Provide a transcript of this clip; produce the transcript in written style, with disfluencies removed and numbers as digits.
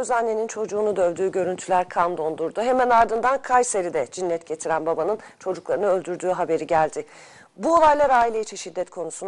annenin çocuğunu dövdüğü görüntüler kan dondurdu. Hemen ardından Kayseri'de cinnet getiren babanın çocuklarını öldürdüğü haberi geldi. Bu olaylar aile içi şiddet konusunu